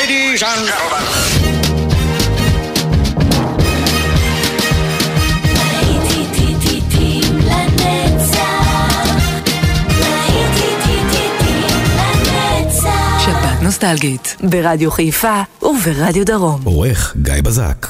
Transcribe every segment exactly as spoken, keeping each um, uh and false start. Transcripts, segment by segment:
Ladies and gentlemen. שבת נוסטלגית ברדיו חיפה וברדיו דרום. עורך גיא בזק.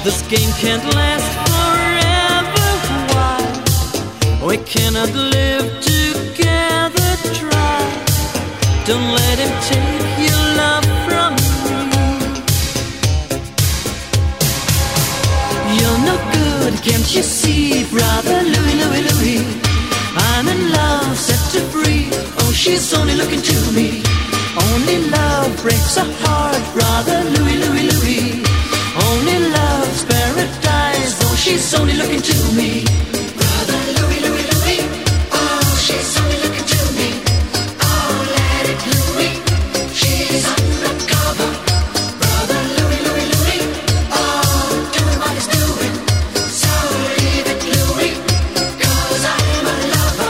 This game can't last forever. Why? We cannot live together. Try. Don't let him take your love from me. You're no good, can't you see, brother Louis, Louis, Louis? I'm in love, set to free. Oh, she's only looking to me. Only love breaks a heart, brother Louis, Louis, Louis. Only love's paradise. Oh, she's only looking to me. Brother Louis, Louis, Louis. Oh, she's only looking to me. Oh, let it Louis. She's undercover. Brother Louis, Louis, Louis. Oh, doing what he's doing. So leave it Louis, 'cause I'm a lover.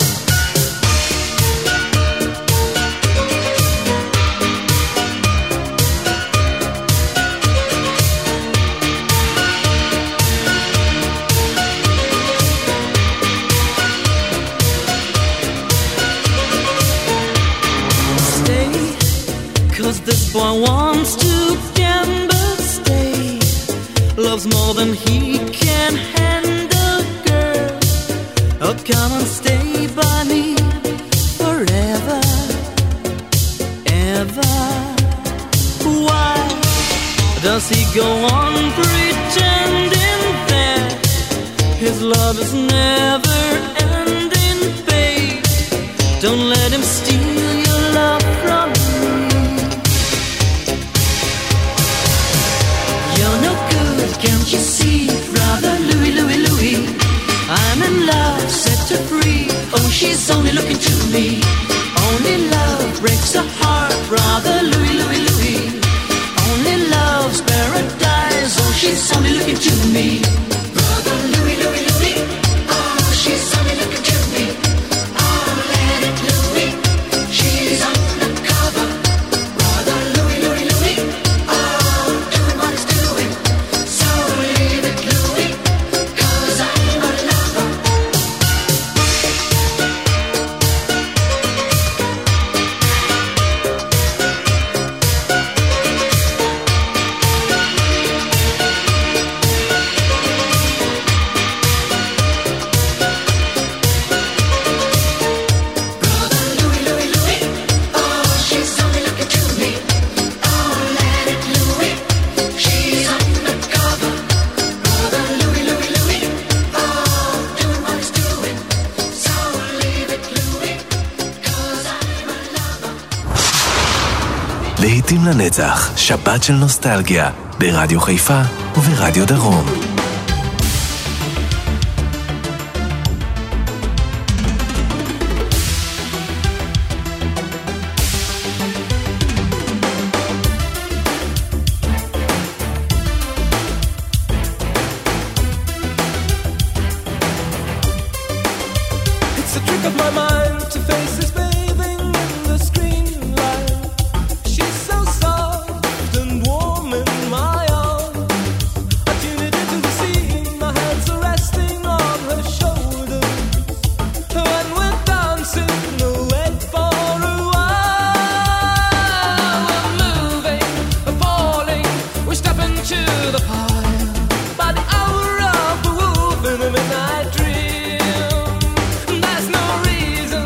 Cause this boy wants to gamble, stay. Loves more than he can handle, girl. Oh, come and stay by me forever, ever. Why does he go on pretending that his love is never ending, babe? Don't let him steal your love from me. You're no good, can't you see, brother Louis, Louis, Louis? I'm in love, set to free. Oh, she's only looking to me. Only love breaks a heart, brother Louis, Louis, Louis. Only love's paradise. Oh, she's only looking to me. Brother Louis, Louis, Louis. Oh, she's only looking to me. Oh, let it Louis. She's undercover. Brother Louis, Louis, Louis. Oh, doing what he's doing. So leave it Louis, 'cause I'm a lover. להיטים לנצח, שבת של נוסטלגיה, ברדיו חיפה וברדיו דרום. It's a trick of my mind to face this bathing in the screen light. She's so soft and warm in my arms. I tune it into the scene, my hands are resting on her shoulders. When we're dancing away for a while, we're moving, we're falling, we're stepping to the pile. By the hour of the wolf in the midnight dream, there's no reason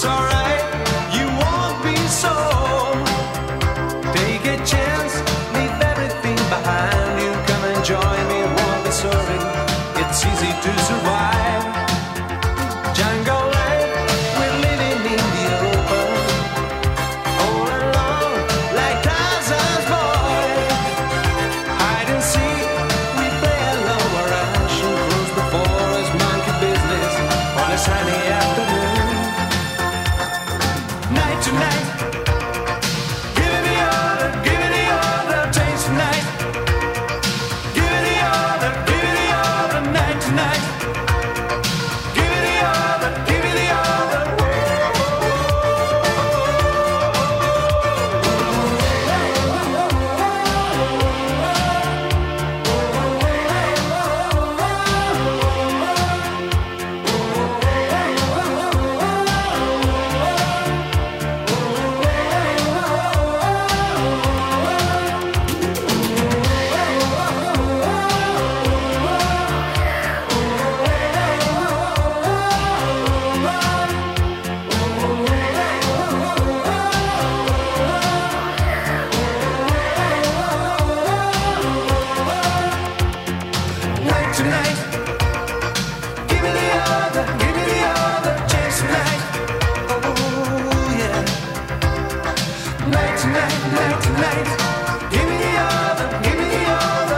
alright, you won't be sold. Take a chance, leave everything behind you. Come and join me, won't be sorry. It's easy to survive. Jungle life, we're living in the open. All alone, like Tarzan's boy. Hide and seek, we play along our rush and cruise the forest, monkey business on a sunny afternoon. Night to night, give it the order, give it the order, change tonight. Give it the order, give it the order, night to night. Give it the order, give it the order. Night to night, give me the order, give me the order, change tonight. Oh yeah. Night to night, night to night, give me the order, give me the order.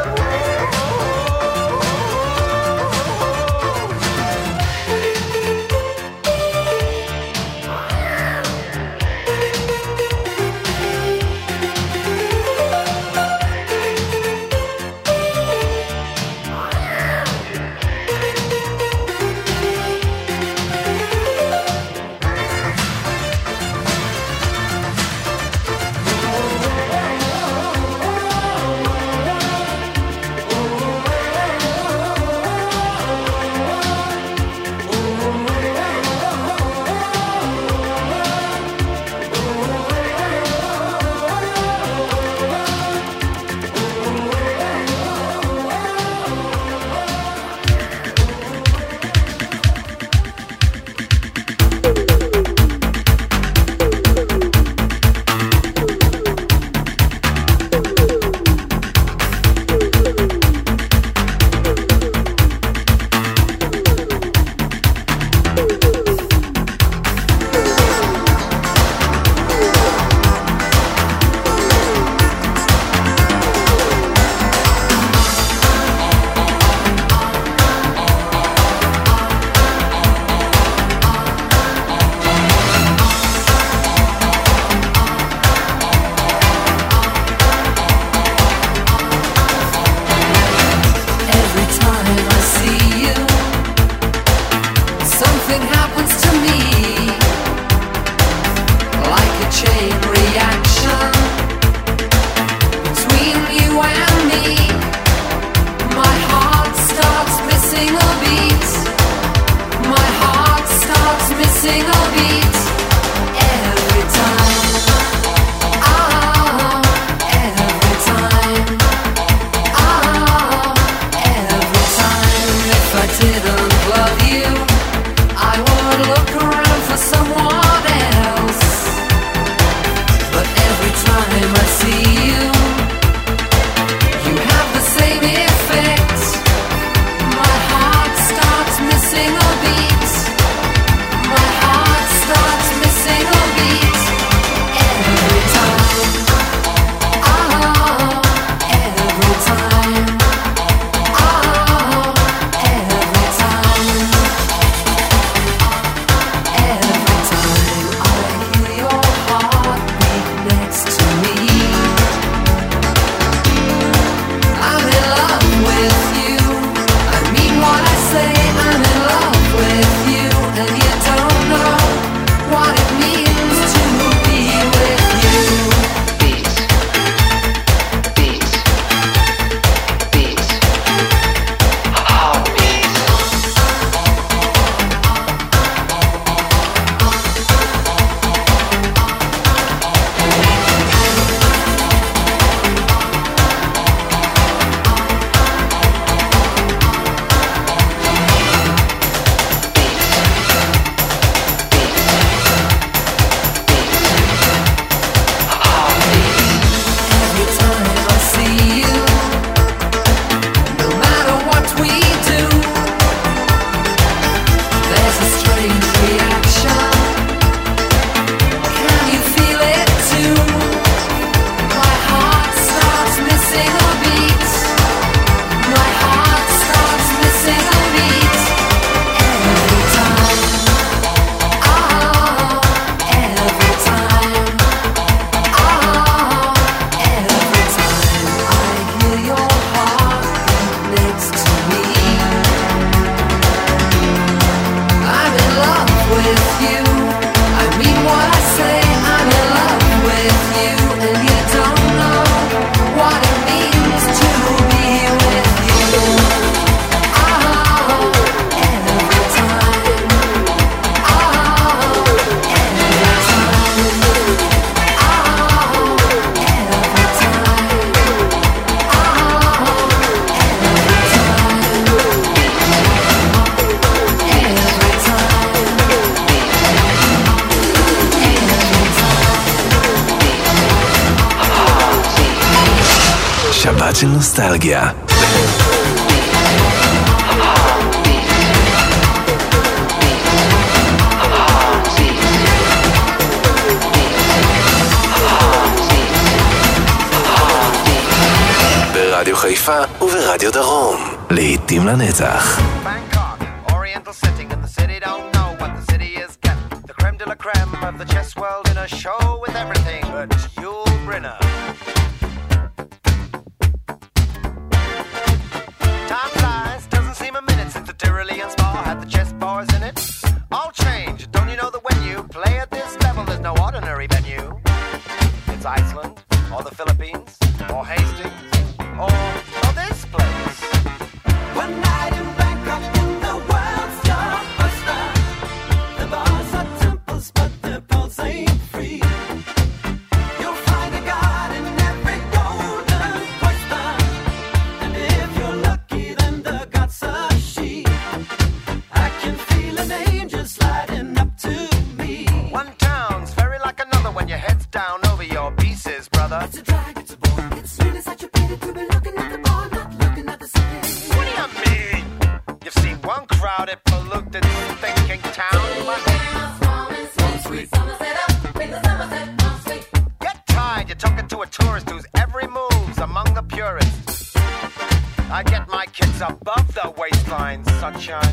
שבת של נוסטלגיה. ברדיו חיפה וברדיו דרום, לעתים לנצח. Bangkok, oriental setting, and the city don't know what the city is getting. The creme de la creme of the chess world in a show with everything but Yul Brynner. Time flies, doesn't seem a minute since the Tyrolean Spa had the chess bars in it. All change, don't you know that when you play at this level, there's no ordinary venue? It's Iceland, or the Philippines, or Hastings, or, or this place. One night in Bangkok in the world's blockbuster. The bars are temples, but the pulse ain't free. You'll find a god in every golden oyster, and if you're lucky, then the god's a she. I can feel an angel sliding up to me. One town's very like another when your head's down over your pieces, brother. It's a drag, it's a bore, it's really such a pity to be looking at the bar, not looking at the city. What do you mean? You've seen one crowded, polluted, thinking town, but get tired, you're talking to a tourist whose every move's among the purists. I get my kids above the waistline, sunshine.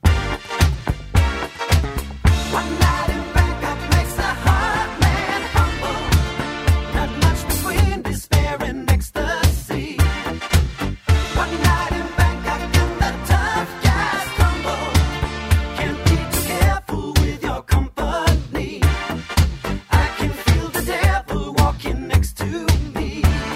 One night in Bangkok makes the heart man humble. Not much between despair and ecstasy. One night in Bangkok and the tough guys crumble. Can't be too careful with your company. I can feel the devil walking next to me.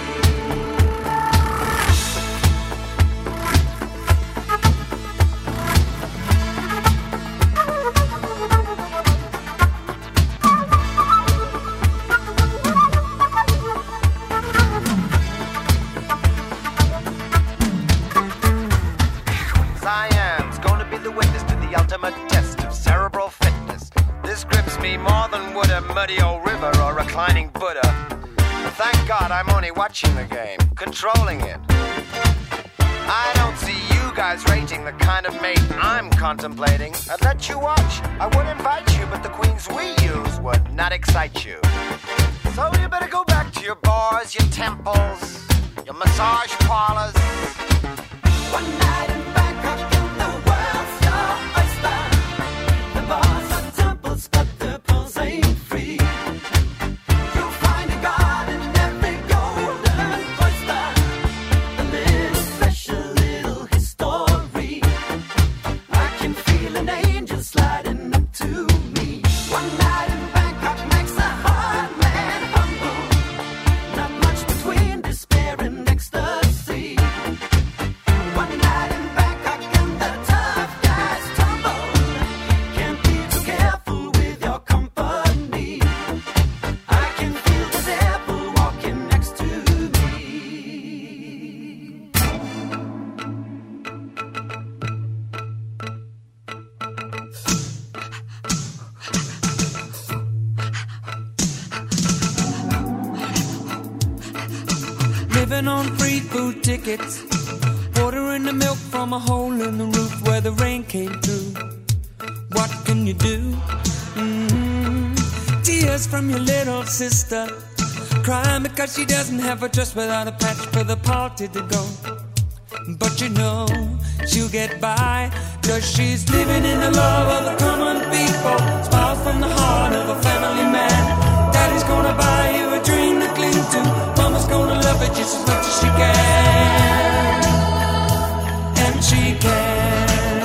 Siam's gonna be the witness to the ultimate test of cerebral fitness. This grips me more than would a muddy old river or reclining Buddha. But thank God I'm only watching the game, controlling it. I don't see you guys rating the kind of mate I'm contemplating. I'd let you watch, I would invite you, but the queens we use would not excite you. So you better go back to your bars, your temples, your massage parlors. One night in Bangkok in the world's your oyster. The bars are temples, but the pulse ain't free. You'll find a god in every golden oyster. A little special little history. I can feel an angel sliding up to me. One night in Bangkok makes a hard man humble. Not much between despair and ecstasy. One night in Bangkok and the tough guys tumble. Can't be too careful with your company. I can feel the devil walking next to me. Living on free food tickets, ordering the milk from a hole in the roof where the rain came through. What can you do? Mm-hmm. Tears from your little sister, crying because she doesn't have a dress without a patch for the party to go. But you know she'll get by, cause she's living in the love of the common people. Smiles from the heart of a family man. Daddy's gonna buy you a dream to cling to. Mama's gonna love it just as much as she can. And she can.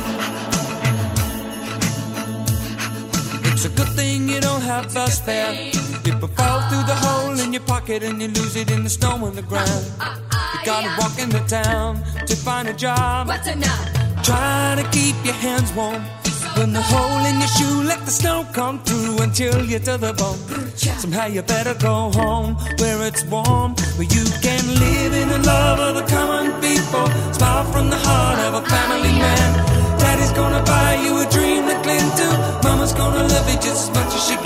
It's a good thing you don't have bus fare. It will fall through the hole in your pocket and you lose it in the snow on the ground. You gotta walk into town to find a job. What's enough? Try to keep your hands warm. When the hole in your shoe, let the snow come through and chill you to the bone. Somehow you better go home where it's warm, where you can live in the love of the common people. Smile from the heart of a family man. Daddy's gonna buy you a dream to cling to. Mama's gonna love you just as much as she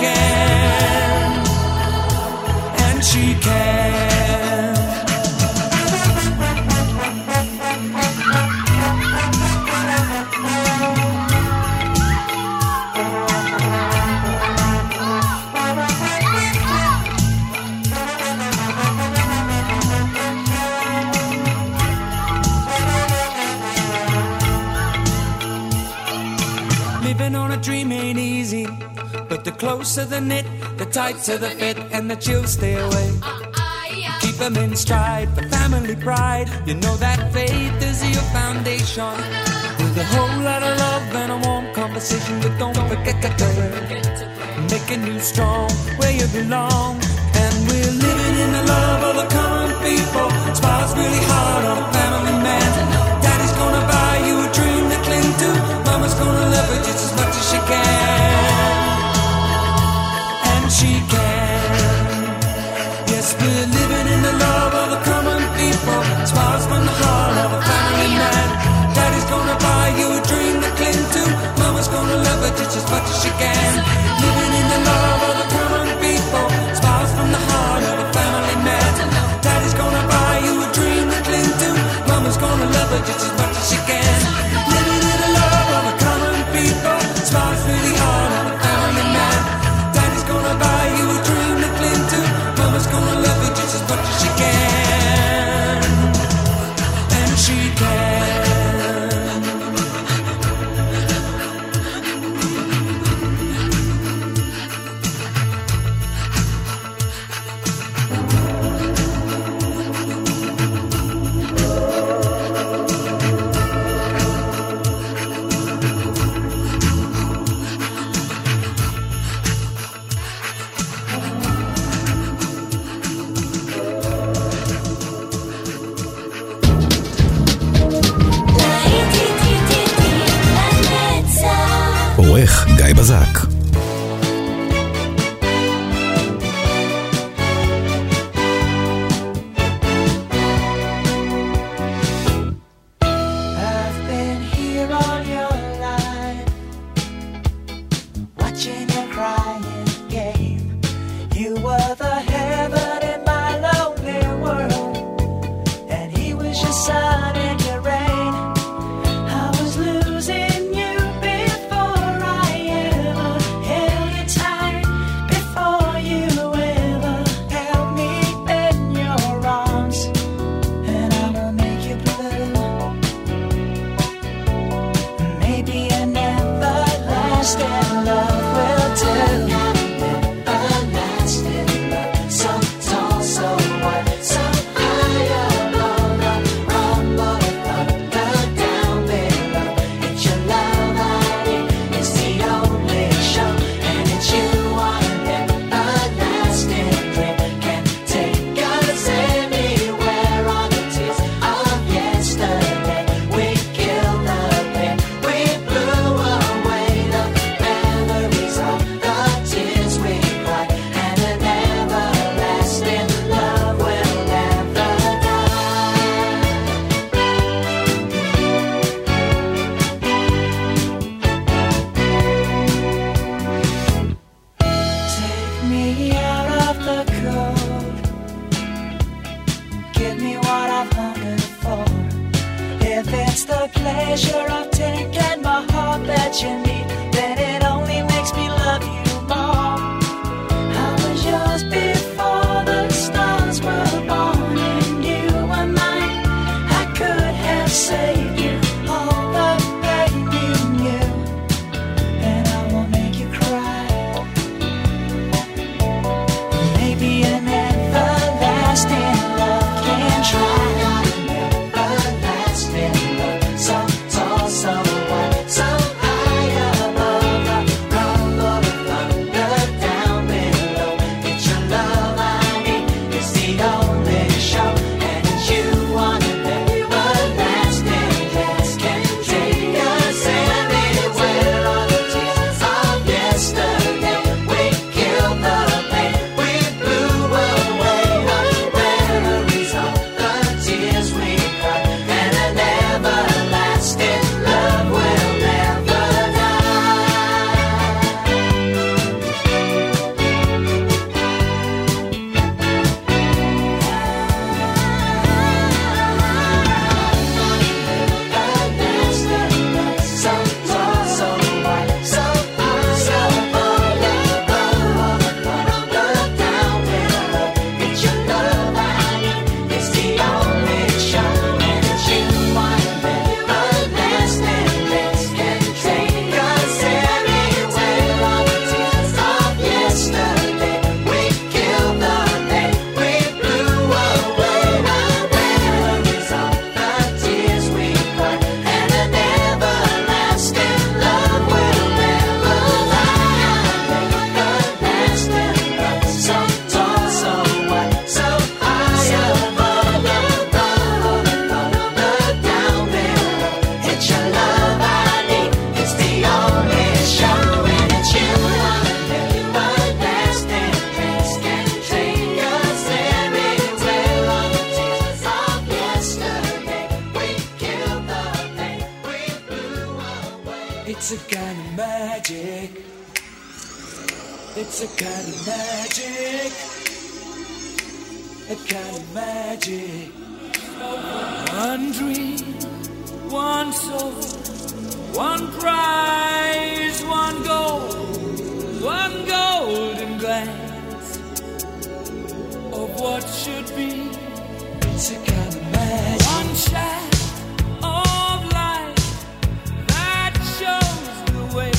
can. And she can. closer the knit, the tighter the fit, and the chills stay away. Keep them in stride for family pride. You know that faith is your foundation. With a whole lot of love and a warm conversation, but don't forget to pray. Making you strong where you belong. And we're living in the love of the common people. Smiles really hard on a family man. Daddy's gonna buy you a dream to cling to. Mama's gonna love her just as much as she can. And she can. Yes, we're living in the love of the common people. Smiles from the heart of a family man. Daddy's gonna buy you a dream to cling to. Mama's gonna love her just as much as she can. Living in the love of the common people. Smiles from the heart of a family man. Daddy's gonna buy you a dream to cling to. Mama's gonna love her just as much as she can. Living in the love of the common people. Smiles really hard on a family man. Daddy's gonna buy you a dream to cling to. Mama's gonna love her just as much as she can. And she can. עורך גיא בזק. I've been here all your life, watching your crying game. You were the heaven in my lonely world, and he was your sun and your rain. I was losing you before I ever held you tight, before you ever held me in your arms. And I will make you blue. Maybe an everlasting love will do. Everlasting love, so tall, so wide, so high above the rumble of thunder down below. It's your love I need, it's the only show, and it's you on an everlasting dream. Can take us anywhere on the tears of yesterday. We killed the pain, we blew away the memories of the tears we cried, and an everlasting love will never die. Take me out of the cold, give me what I've hungered for. If it's the pleasure of taking my heart that you need, then it only makes me love you more. I was yours before the stars were born, and you were mine. I could have saved you all the pain you knew, and I will make you cry. Maybe an everlasting love can try. An everlasting love, so tall, so wide, so high magic. It's a kind of magic. A kind of magic. One dream, one soul, one prize, one goal, one golden glance of what should be. It's a kind of magic. One shaft of light that shows the way.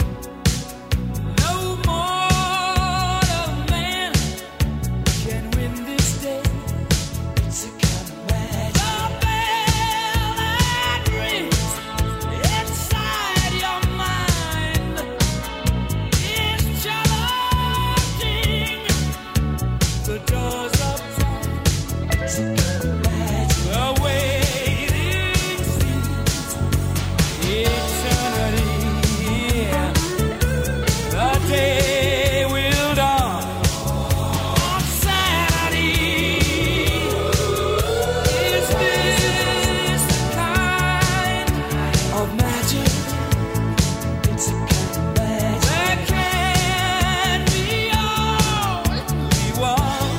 No mortal man can win this day. It's a kind of magic. The bell that rings inside your mind is challenging the doors of time. It's a kind of magic. The waiting seems eternity. The day will dawn on Saturday. Is this the kind of magic? It's a kind of magic. There can be only one.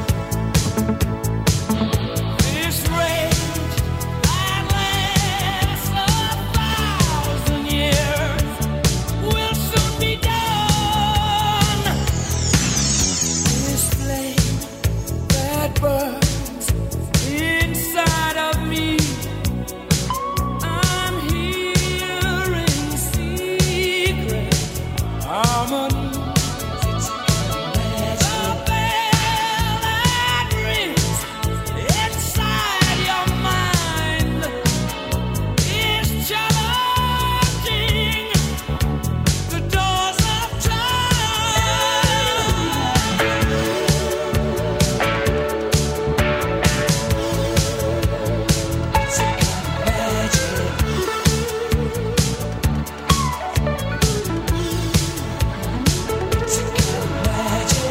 This rage that lasts a thousand years will soon be done. This flame that burns inside of me, I'm hearing secret harmonies. It's a kind of magic. The bell that rings inside your mind is challenging the doors of time. It's a kind of magic. It's a kind of magic.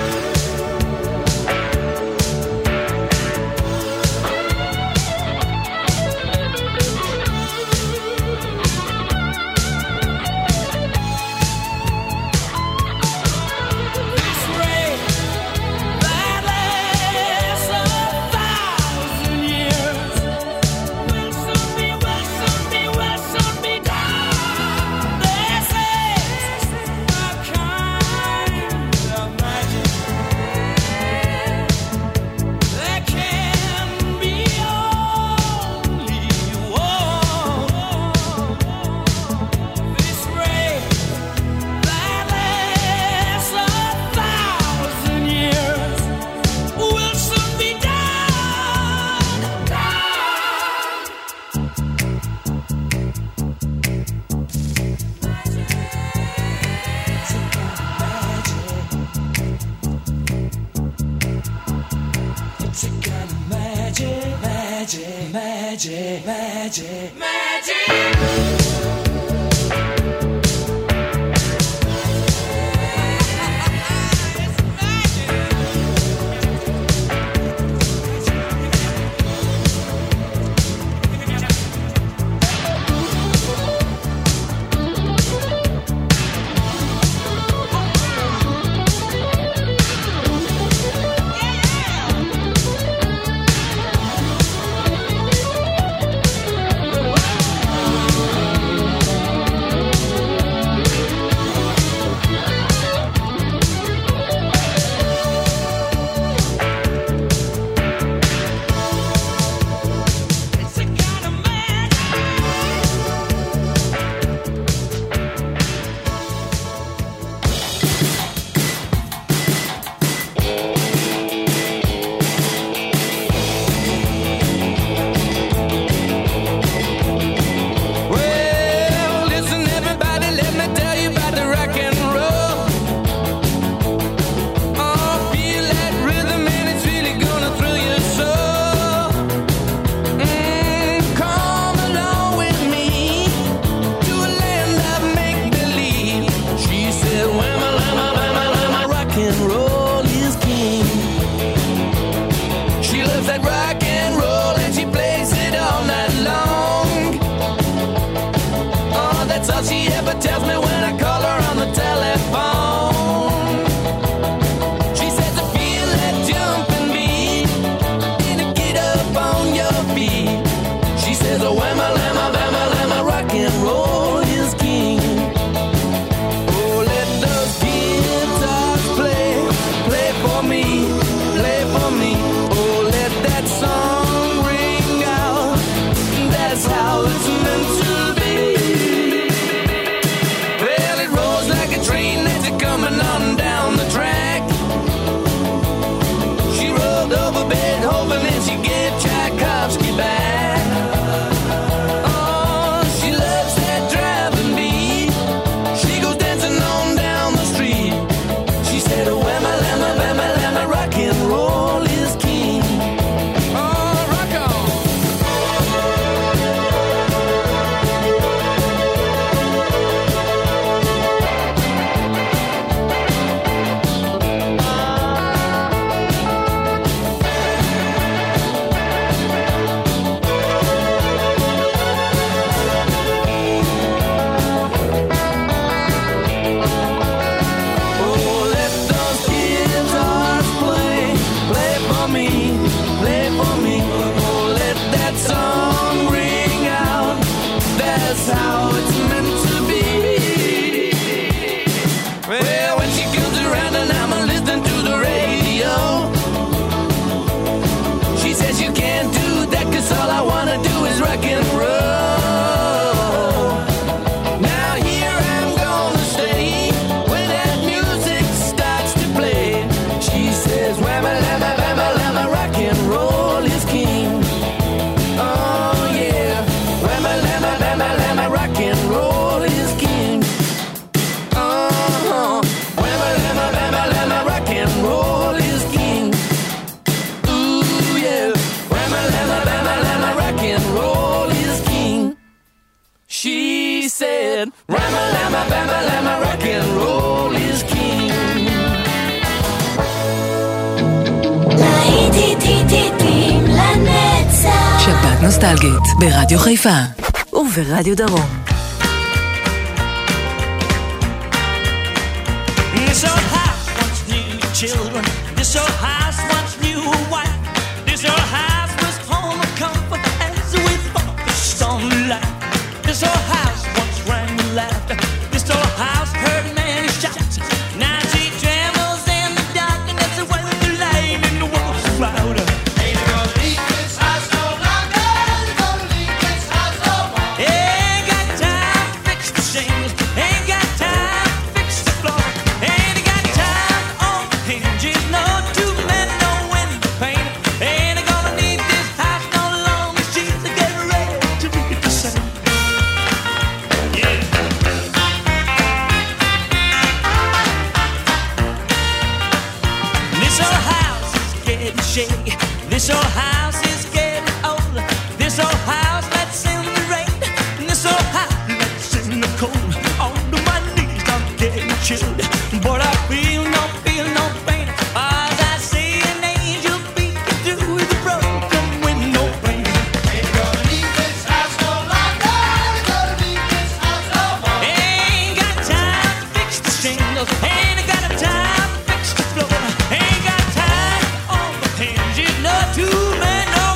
This rain that lasts a thousand years will soon be, will soon be, will soon be done. This is a kind of magic. There can be only one. This rain that lasts a thousand years will soon be done. It's a kind of magic. It's a kind of magic, magic, magic, magic, magic. me, play for me. Oh, let that song ring out. That's how it's meant to be. Well, it rolls like a train that's coming on down the track. She rolled over Beethoven and she gave Tchaikovsky back. Oh, she loves that driving beat. She goes dancing on down the street. She said, oh, whamma, lamma, bamma, lamma, rock and roll is king. Oh, rock on. Oh, let those guitars play, play for me, play for me. Oh, let that song ring out. That's how it's meant to be. Well, when she comes around and I'm listening to the radio, she says you can't do that 'cause all I wanna do is rock and roll. Now here I'm gonna stay when that music starts to play. She says, whamma, lamma, bamma, lamma, rock and roll is king. Oh yeah, whamma, lamma, bamma, lamma, rock and roll is king. Uh-huh, whamma, lamma, bamma, lamma, rock and roll is king. Ooh yeah, whamma, lamma, bamma, lamma, rock and roll is king. She said, Rama, lama, bama, lama, rock and roll is king. להיטים לנצח. שבת נוסטלגית ברדיו חיפה וברדיו דרום. This old house once knew children. This old house once knew a wife. This old house was home of comfort as we focused on life. This old house once rang with laughter. This old house heard many shots. Now she trembles in the darkness when the light in the walls is louder. Ain't gonna leave this house no longer. Ain't gonna leave this house no more. Ain't got time to fix the shingles. Ain't got time to fix the floor. Ain't got time on the hinges. No two men, no window pane. Ain't gonna need this house no longer. She's getting ready to read the same. Yeah. This old house is getting shaky. This old house is getting old. This old house lets in the rain. This old house lets in the cold. On to my knees, I'm getting chilled. But I feel no, feel no pain. As I see an angel peeking through the broken window pane. Ain't gonna leave this house no longer. Ain't gonna leave this house no more. Ain't got time to fix the shingles. Ain't got time to fix the floor. Ain't got time on the hinges. No two men, no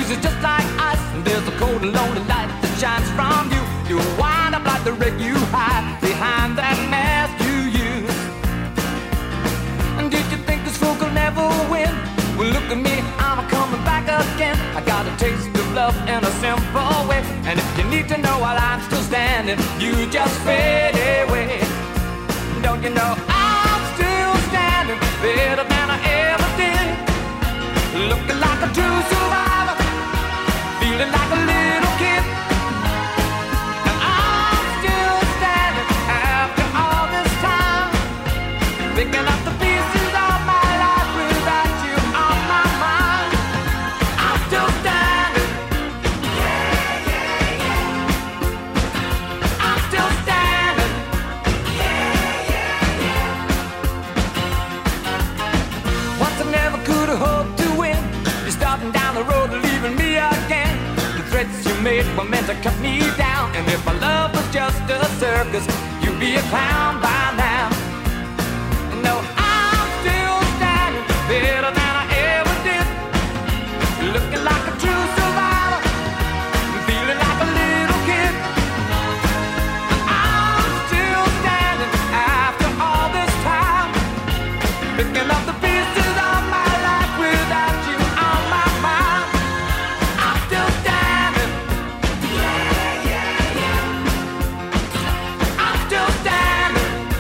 Blues is just like ice, and there's a cold and lonely light that shines from you. You wind up like the wreck you hide behind that mask you use. And did you think this fool could never win? Well, look at me, I'm coming back again. I got a taste of love in a simple way. And if you need to know while I'm still standing, you just fade away. Don't you know I'm still standing better than I ever did? Looking like a true survivor, feeling like a little kid. And I'm still standing after all this time, picking up the pieces of my life without you on my mind. I'm still standing. Yeah, yeah, yeah. I'm still standing. Yeah, yeah, yeah. Once I never could have hoped to win. You're starting down the road and leaving me again. The threats you made were meant to cut me down. And if my love was just a circus, you'd be a clown by now. No, I'm still standing better than I ever did. Looking like a true survivor, feeling like a little kid. And I'm still standing after all this time, picking up the pieces of my life without you on my mind. I'm still standing. Yeah, yeah, yeah. I'm still standing.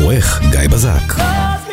העורך גיא בזק.